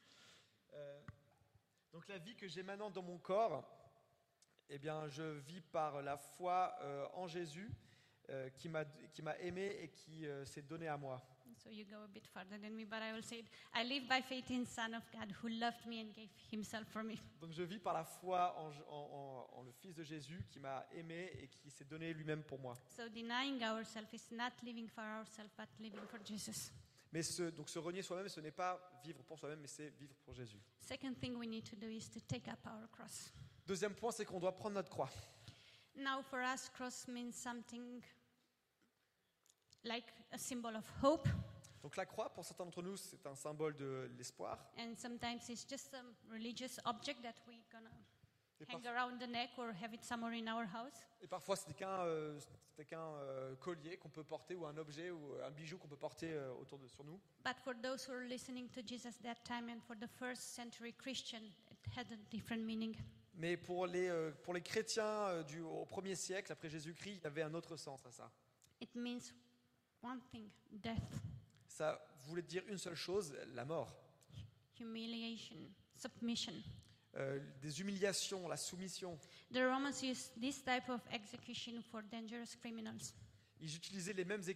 S2: Donc la vie que j'ai maintenant dans mon corps, eh bien je vis par la foi en Jésus qui m'a aimé et qui s'est donné à moi.
S1: So you go a bit further than me, but I will say it. I live by faith in Son of God who loved me and gave himself for me.
S2: Donc je vis par la foi en le Fils de Jésus qui m'a aimé et qui s'est donné lui-même pour moi.
S1: So denying ourselves is not living for ourselves, but living for Jesus.
S2: Mais donc se renier soi-même, ce n'est pas vivre pour soi-même, mais c'est vivre pour Jésus.
S1: Second thing we need to do is to take up our cross.
S2: Deuxième point, c'est qu'on doit prendre notre croix.
S1: Now for us, cross means something like a symbol of hope,
S2: Donc la croix, pour certains d'entre nous, c'est un symbole de l'espoir.
S1: and sometimes it's just a religious object that we're gonna
S2: Et,
S1: hang
S2: parf-
S1: around the neck or have it somewhere in our house.
S2: et parfois, c'était qu'un collier qu'on peut porter ou un objet ou un bijou qu'on peut porter sur nous.
S1: But for those who are listening to Jesus that time and for the first century Christian, it had a different meaning.
S2: Mais pour les chrétiens au 1er siècle, après Jésus-Christ, il y avait un autre sens à ça.
S1: It means one thing, death,
S2: Ça voulait dire une seule chose, la mort.
S1: humiliation, submission.
S2: Des humiliations, la soumission.
S1: The Romans used this type of execution for dangerous criminals.
S2: Ils utilisaient les mêmes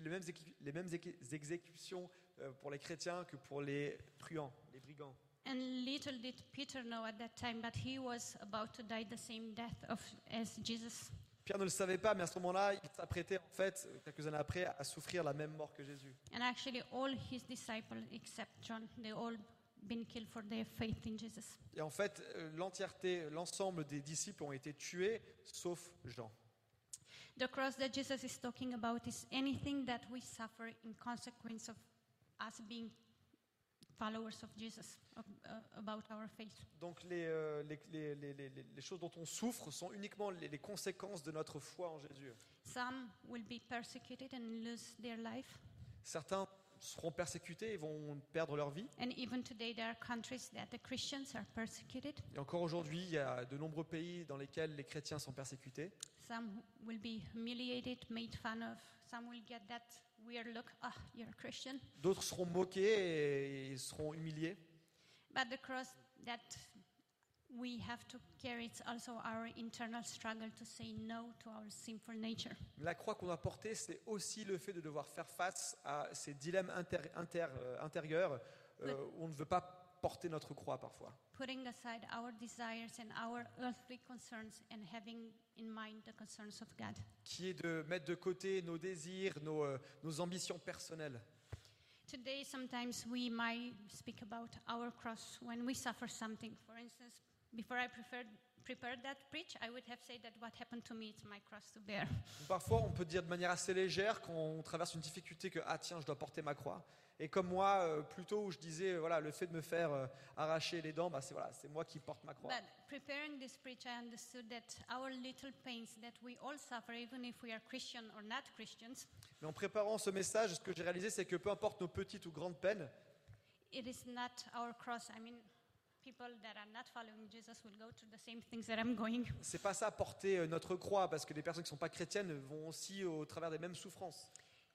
S2: exécutions pour les chrétiens que pour les truands, les brigands.
S1: And little did Peter know at that time that he was about to die the same death as Jesus.
S2: Pierre ne le savait pas, mais à ce moment-là, il s'apprêtait en fait, quelques années après, à souffrir la même mort que Jésus.
S1: And actually all his disciples except John, they all been killed for their faith in Jesus.
S2: Et en fait, l'ensemble des disciples ont été tués, sauf Jean.
S1: The cross that Jesus is talking about is anything that we suffer in consequence of us being followers of Jesus, about our faith.
S2: Donc les choses dont on souffre sont uniquement les conséquences de notre foi en Jésus.
S1: Some will be persecuted and lose their life.
S2: Certains seront persécutés et vont perdre leur vie.
S1: And even today there are countries that the Christians are persecuted.
S2: Et encore aujourd'hui, il y a de nombreux pays dans lesquels les chrétiens sont persécutés.
S1: Some will be humiliated, made fun of. Some will get that weird look, you're a Christian.
S2: D'autres seront moqués et seront humiliés.
S1: But the cross that we have to carry, it's also our internal struggle to say no to our sinful nature.
S2: La croix qu'on doit porter, c'est aussi le fait de devoir faire face à ces dilemmes intérieurs où on ne veut pas porter notre croix parfois.
S1: Putting aside our desires and our earthly concerns and having in mind the concerns of God.
S2: Qui est de mettre de côté nos désirs, nos ambitions personnelles.
S1: Today, sometimes we might speak about our cross when we suffer something. For instance, before I prepared that preach, I would have said that what happened to me, it's my cross to bear.
S2: Parfois, on peut dire de manière assez légère quand on traverse une difficulté que tiens, je dois porter ma croix. Et comme moi, plutôt où je disais voilà, le fait de me faire arracher les dents, c'est moi qui porte ma croix.
S1: But preparing this preach, I understood that our little pains that we all suffer, even if we are Christian or not Christians,
S2: Mais en préparant ce message, ce que j'ai réalisé, c'est que peu importe nos petites ou grandes peines,
S1: it is not our cross. I mean, people that are not following Jesus will go through the same things that I'm going.
S2: c'est pas ça porter notre croix, parce que les personnes qui sont pas chrétiennes vont aussi au travers des mêmes souffrances.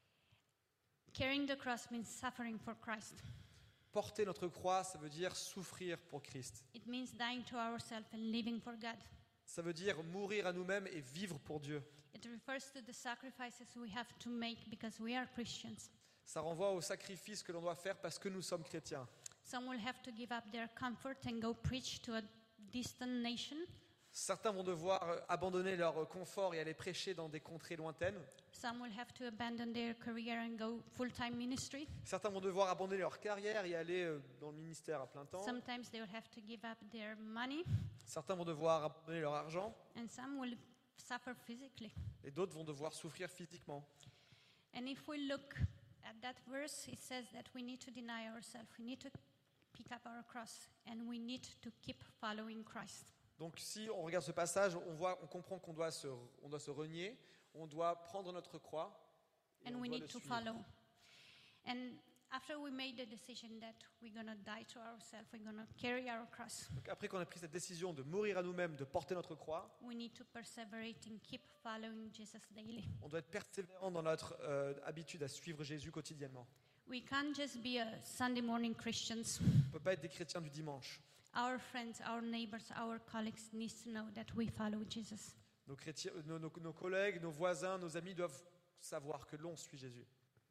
S1: Carrying the cross means suffering for Christ.
S2: Porter notre croix, ça veut dire souffrir pour Christ.
S1: It means dying to ourselves and living for God.
S2: Ça veut dire mourir à nous-mêmes et vivre pour Dieu.
S1: It refers to the sacrifices we have to make because we are Christians.
S2: Ça renvoie au sacrifice que l'on doit faire parce que nous sommes chrétiens.
S1: Some will have to give up their comfort and go preach to a distant nation.
S2: Certains vont devoir abandonner leur confort et aller prêcher dans des contrées lointaines.
S1: Some will have to abandon their career and go full-time ministry.
S2: Certains vont devoir abandonner leur carrière et aller dans le ministère à plein temps.
S1: Sometimes they will have to give up their money,
S2: Certains vont devoir abandonner leur argent
S1: and some will suffer physically.
S2: et d'autres vont devoir souffrir physiquement.
S1: And if we look at that verse, it says that we need to deny ourselves. We need to pick up our cross and we need to keep following Christ.
S2: Donc si on regarde ce passage, on comprend qu'on doit se renier, on doit prendre notre croix et
S1: and
S2: on
S1: we
S2: doit
S1: need
S2: le
S1: to
S2: suivre.
S1: follow. And after we made the decision that we're going to die to ourselves, we're going to carry our cross,
S2: Donc après qu'on a pris cette décision de mourir à nous-mêmes, de porter notre croix,
S1: we need to perseverate and keep following Jesus daily.
S2: on doit être persévérant dans notre habitude à suivre Jésus quotidiennement.
S1: We can't just be a Sunday morning Christians.
S2: On ne peut pas être des chrétiens du dimanche.
S1: Our friends, our neighbors, our colleagues need to know that we follow Jesus.
S2: Nos collègues, nos voisins, nos amis doivent savoir que l'on suit Jésus.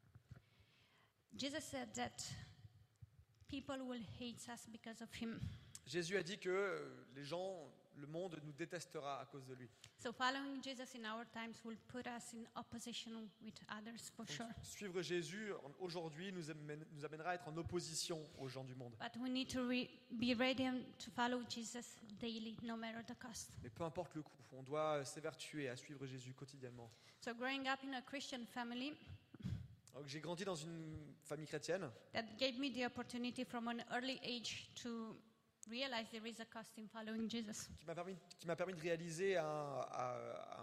S1: Jesus said that people will hate us because of him.
S2: Jésus a dit que les gens, le monde nous détestera à cause de lui.
S1: So following Jesus in our times will put us in opposition with others for
S2: Donc,
S1: sure.
S2: suivre Jésus aujourd'hui nous amènera à être en opposition aux gens du monde.
S1: But we need to be ready to follow Jesus daily, no matter the cost.
S2: Mais peu importe le coût, on doit s'évertuer à suivre Jésus quotidiennement.
S1: So growing up in a Christian family,
S2: Donc, j'ai grandi dans une famille chrétienne
S1: that gave me the opportunity from an early age to realize there is a cost in following Jesus.
S2: qui m'a permis de réaliser à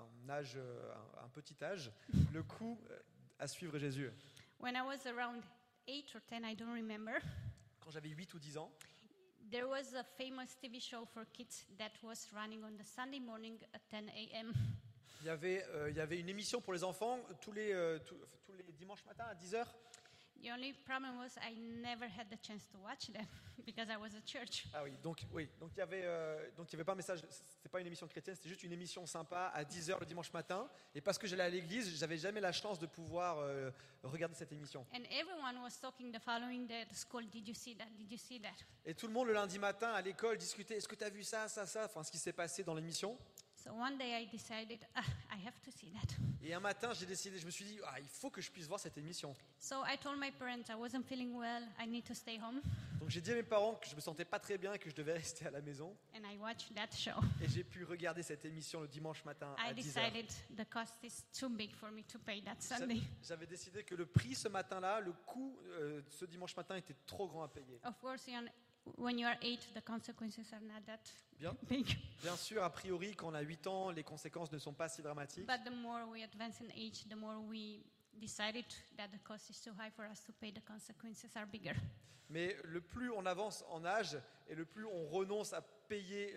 S2: un petit âge le coût à suivre Jésus.
S1: When I was around 8 or 10, I don't remember,
S2: Quand j'avais 8 ou 10 ans,
S1: there was a famous TV show for kids that was running on the Sunday morning at 10 a.m.
S2: il y avait une émission pour les enfants tous les dimanches matins à 10h.
S1: The only problem was I never had the chance to watch them because I was at church.
S2: Ah donc il y avait pas un message, c'était pas une émission chrétienne, c'était juste une émission sympa à 10h le dimanche matin, et parce que j'allais à l'église, j'avais jamais la chance de pouvoir regarder cette émission.
S1: And everyone was talking the following day at school, did you see that? Did you see that?
S2: Et tout le monde le lundi matin à l'école discutait, est-ce que tu as vu ça, enfin ce qui s'est passé dans l'émission.
S1: So one day I decided, I have to see that.
S2: Et un matin, je me suis dit, il faut que je puisse voir cette émission.
S1: So I told my parents I wasn't feeling well, I need to stay home,
S2: Donc j'ai dit à mes parents que je me sentais pas très bien et que je devais rester à la maison.
S1: and I watched that show.
S2: Et j'ai pu regarder cette émission le dimanche matin à
S1: I
S2: 10h.
S1: decided the cost is too big for me to pay that Sunday.
S2: J'avais décidé que le prix ce matin-là, le coût ce dimanche matin était trop grand à payer.
S1: Of course, when you are 8, the consequences are not that
S2: Bien,
S1: big.
S2: bien sûr, a priori, quand on a 8 ans, les conséquences ne sont pas si dramatiques.
S1: But the more we advance in age, the more we decided that the cost is too high for us to pay, the consequences are bigger.
S2: Mais le plus on avance en âge et le plus on renonce à payer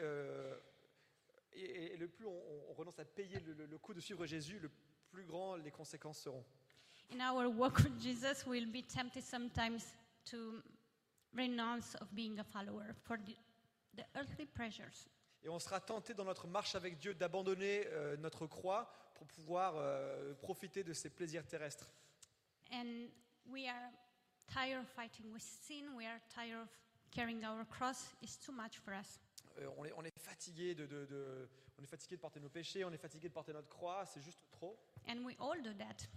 S2: et le plus on renonce à payer le coût de suivre Jésus, le plus grand les conséquences seront.
S1: In our walk with Jesus, we'll be tempted sometimes to renounce of being a follower for the earthly pleasures.
S2: Et on sera tenté dans notre marche avec Dieu d'abandonner notre croix pour pouvoir profiter de ses plaisirs terrestres.
S1: And we are tired of fighting with sin. We are tired of carrying our cross. It's too much for us.
S2: On est fatigué on est fatigué de porter nos péchés, on est fatigué de porter notre croix, c'est juste trop.
S1: And we all do that.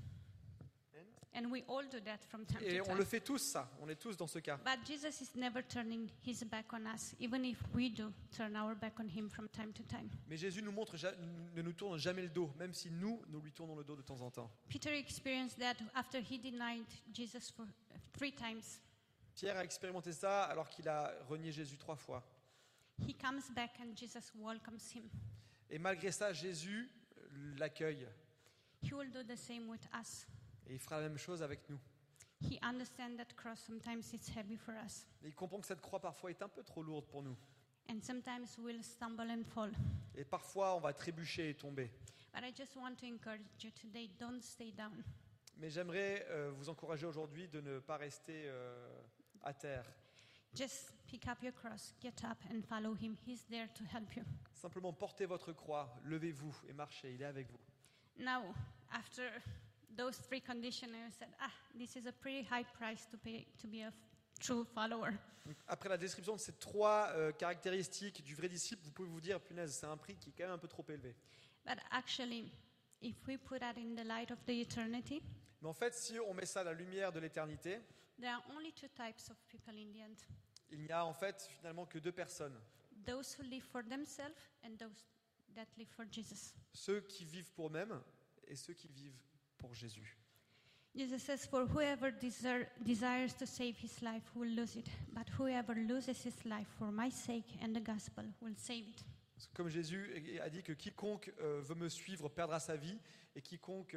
S1: And we all do that from time
S2: Et
S1: to
S2: on
S1: time.
S2: le fait tous ça, on est tous dans ce cas.
S1: But Jesus is never turning his back on us, even if we do turn our back on him from time to time.
S2: Mais Jésus ne nous tourne jamais le dos, même si nous lui tournons le dos de temps en temps.
S1: Peter experienced that after he denied Jesus for 3 times.
S2: Pierre a expérimenté ça alors qu'il a renié Jésus 3 fois.
S1: He comes back and Jesus welcomes him.
S2: Et malgré ça, Jésus l'accueille.
S1: He will do the same with us.
S2: Et il fera la même chose avec nous.
S1: He understands that cross sometimes it's heavy for us.
S2: Et il comprend que cette croix parfois est un peu trop lourde pour nous.
S1: And sometimes we'll stumble and fall.
S2: Et parfois on va trébucher et tomber.
S1: But I just want to encourage you today, don't stay down.
S2: Mais j'aimerais vous encourager aujourd'hui de ne pas rester à terre.
S1: Just pick up your cross, get up and follow him. He's there to help you.
S2: Simplement portez votre croix, levez-vous et marchez, il est avec vous.
S1: Now, after those 3 conditions, I said, this is a pretty high price to pay to be a true follower.
S2: Donc, après la description de ces 3 caractéristiques du vrai disciple, vous pouvez vous dire, punaise, c'est un prix qui est quand même un peu trop élevé.
S1: But actually, if we put that in the light of the eternity,
S2: Mais en fait, si on met ça à la lumière de l'éternité,
S1: there are only 2 types of people in the end.
S2: il n'y a en fait finalement que 2 personnes.
S1: Those who live for themselves and those that live for Jesus.
S2: Ceux qui vivent pour eux-mêmes et ceux qui vivent pour Jésus.
S1: Jesus says, for whoever desires to save his life will lose it, but whoever loses his life for my sake and the gospel will save it.
S2: Parce que comme Jésus a dit que quiconque veut me suivre perdra sa vie, et quiconque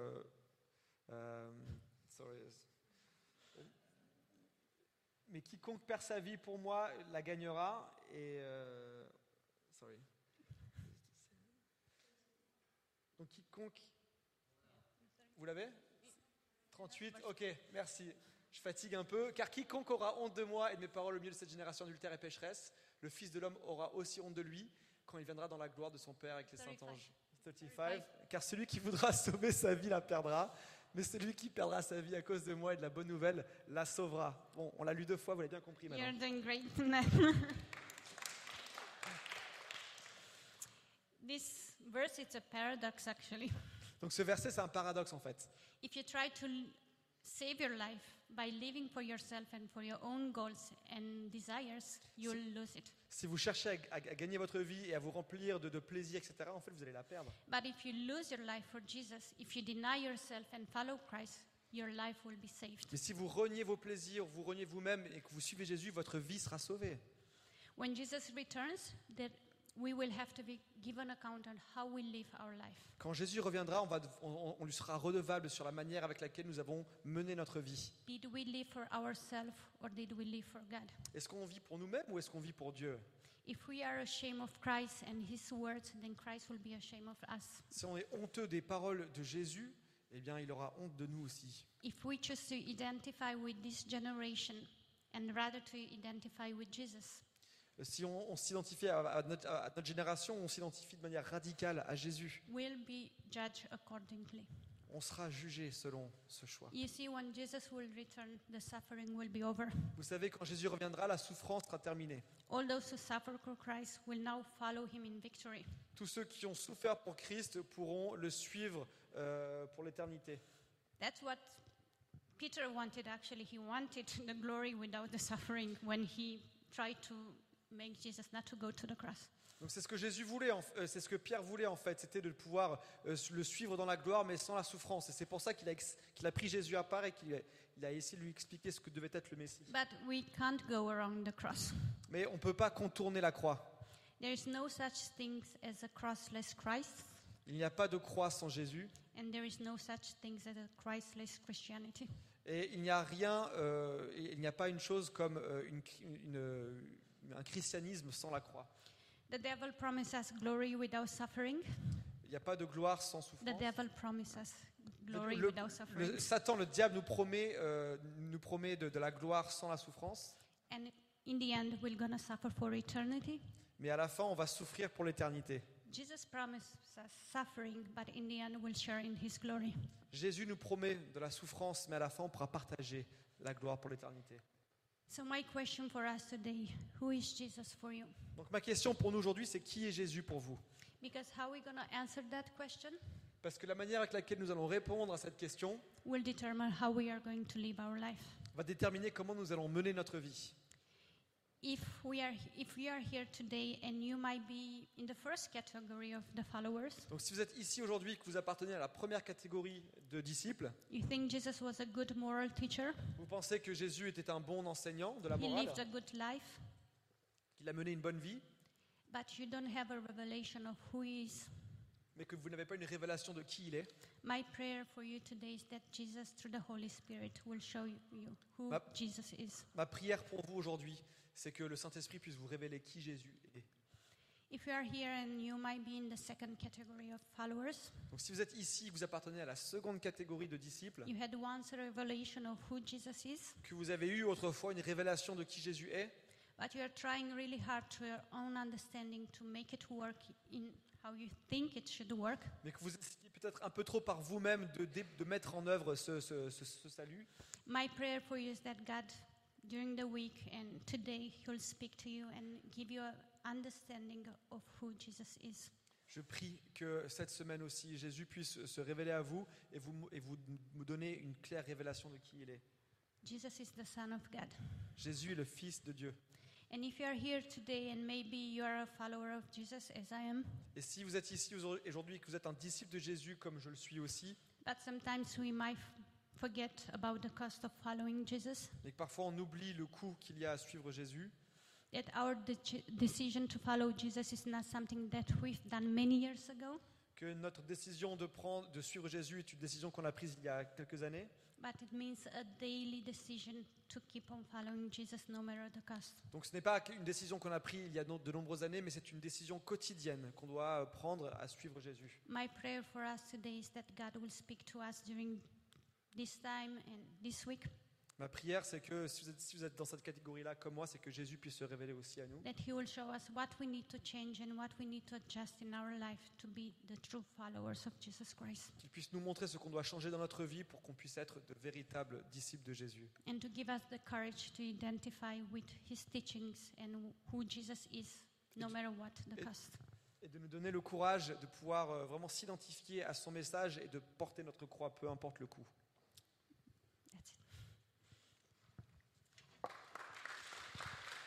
S2: mais quiconque perd sa vie pour moi la gagnera. Et donc quiconque, vous l'avez 38, ok, merci. Je fatigue un peu. Car quiconque aura honte de moi et de mes paroles au milieu de cette génération adultère et pécheresse, le Fils de l'homme aura aussi honte de lui quand il viendra dans la gloire de son Père avec les saints anges. 35. Car celui qui voudra sauver sa vie la perdra, mais celui qui perdra sa vie à cause de moi et de la bonne nouvelle la sauvera. Bon, on l'a lu 2 fois, vous l'avez bien compris maintenant.
S1: You're doing great. This verse, it's a paradox actually.
S2: Donc ce verset, c'est un paradoxe en fait.
S1: If you try to save your life by living for yourself and for your own goals and desires, you'll lose it.
S2: Si vous cherchez à gagner votre vie et à vous remplir de plaisir, etc., en fait, vous allez la perdre.
S1: But if you lose your life for Jesus, if you deny yourself and follow Christ, your life will be saved.
S2: Mais si vous reniez vos plaisirs, vous reniez vous-même et que vous suivez Jésus, votre vie sera sauvée.
S1: When Jesus returns, we will have to be given account on how we live our life.
S2: Quand Jésus reviendra, on lui sera redevable sur la manière avec laquelle nous avons mené notre vie.
S1: Did we live for ourselves or did we live for God?
S2: Est-ce qu'on vit pour nous-mêmes ou est-ce qu'on vit pour Dieu?
S1: If we are ashamed of Christ and His words, then Christ will be ashamed of us.
S2: Si on est honteux des paroles de Jésus, eh bien, il aura honte de nous aussi.
S1: If we choose to identify with this generation and rather to identify with Jesus,
S2: Si on s'identifie à notre génération, on s'identifie de manière radicale à Jésus,
S1: we'll be judged accordingly.
S2: on sera jugé selon ce choix.
S1: You see, when Jesus will return, the suffering will be over.
S2: Vous savez, quand Jésus reviendra, la souffrance sera terminée.
S1: All those who suffer for Christ will now follow Him in victory.
S2: Tous ceux qui ont souffert pour Christ pourront le suivre pour l'éternité.
S1: That's what Peter wanted actually. He wanted the glory without the suffering when he tried to make Jesus not to go to the cross.
S2: Donc c'est ce que Jésus voulait, c'est ce que Pierre voulait en fait, c'était de pouvoir le suivre dans la gloire mais sans la souffrance. Et c'est pour ça qu'il a pris Jésus à part et qu'il a essayé de lui expliquer ce que devait être le Messie.
S1: But we can't go around the cross.
S2: Mais on ne peut pas contourner la croix.
S1: There is no such thing as a crossless Christ,
S2: Il n'y a pas de croix sans Jésus
S1: and there is no such thing as a Christless Christianity.
S2: et il n'y a rien, il n'y a pas une chose comme un christianisme sans la croix.
S1: The devil promises us glory without suffering.
S2: Il n'y a pas de gloire sans
S1: The
S2: souffrance.
S1: devil promises us glory
S2: Le-
S1: without suffering.
S2: Satan, le diable, nous promet de la gloire sans la souffrance,
S1: And in the end, we're going to suffer for eternity.
S2: mais à la fin, on va souffrir pour l'éternité.
S1: Jesus promises us suffering, but in the end, we'll share in His glory.
S2: Jésus nous promet de la souffrance, mais à la fin, on pourra partager la gloire pour l'éternité.
S1: So my question for us today, who is Jesus for you?
S2: Donc ma question pour nous aujourd'hui, c'est qui est Jésus pour vous?
S1: Because how are we going to answer that question
S2: Parce que la manière avec laquelle nous allons répondre à cette question
S1: will determine how we are going to live our life.
S2: va déterminer comment nous allons mener notre vie.
S1: If we are here today and you might be in the first category of the followers,
S2: Donc si vous êtes ici aujourd'hui, que vous appartenez à la première catégorie de disciples,
S1: you think Jesus was a good moral teacher,
S2: vous pensez que Jésus était un bon enseignant de la
S1: he
S2: morale,
S1: lived a good life,
S2: qu'il a mené une bonne vie,
S1: but you don't have a revelation of who he is.
S2: mais que vous n'avez pas une révélation de qui il est,
S1: My prayer for you today is that Jesus, through the Holy Spirit, will show you who
S2: Ma-
S1: Jesus is.
S2: ma prière pour vous aujourd'hui, c'est que le Saint-Esprit puisse vous révéler qui Jésus est.
S1: If you are here and you might be in the second category of followers,
S2: Donc si vous êtes ici, que vous appartenez à la seconde catégorie de disciples,
S1: you had once a revelation of who Jesus is,
S2: que vous avez eu autrefois une révélation de qui Jésus est,
S1: but you are trying really hard to your own understanding to make it work in how you think it should work,
S2: mais que vous essayez peut-être un peu trop par vous-même de mettre en œuvre ce salut,
S1: my prayer for you is that God, during the week and today, He'll speak to you and give you an understanding of who Jesus is.
S2: je prie que cette semaine aussi, Jésus puisse se révéler à vous et vous donner une claire révélation de qui il est.
S1: Jesus is the Son of God.
S2: Jésus est le Fils de Dieu.
S1: And if you are here today and maybe you are a follower of Jesus as I am,
S2: Et si vous êtes ici aujourd'hui et que vous êtes un disciple de Jésus comme je le suis aussi,
S1: but sometimes we might forget about the cost of following Jesus,
S2: et que parfois on oublie le coût qu'il y a à suivre Jésus,
S1: that our decision to follow Jesus is not something that we've done many years ago,
S2: que notre décision de suivre Jésus est une décision qu'on a prise il y a quelques années,
S1: but it means a daily decision to keep on following Jesus no matter the cost.
S2: donc ce n'est pas une décision qu'on a prise il y a de nombreuses années, mais c'est une décision quotidienne qu'on doit prendre à suivre Jésus.
S1: My prayer for us today is that God will speak to us during this time and this week,
S2: Ma prière, c'est que si vous êtes dans cette catégorie-là comme moi, c'est que Jésus puisse se révéler aussi à nous.
S1: that He will show us what we need to change and what we need to adjust in our life to be the true followers of Jesus Christ,
S2: Qu'il puisse nous montrer ce qu'on doit changer dans notre vie pour qu'on puisse être de véritables disciples de Jésus.
S1: and to give us the courage to identify with His teachings and who Jesus is, no matter what the
S2: et-
S1: cost.
S2: Et de nous donner le courage de pouvoir vraiment s'identifier à son message et de porter notre croix, peu importe le coût.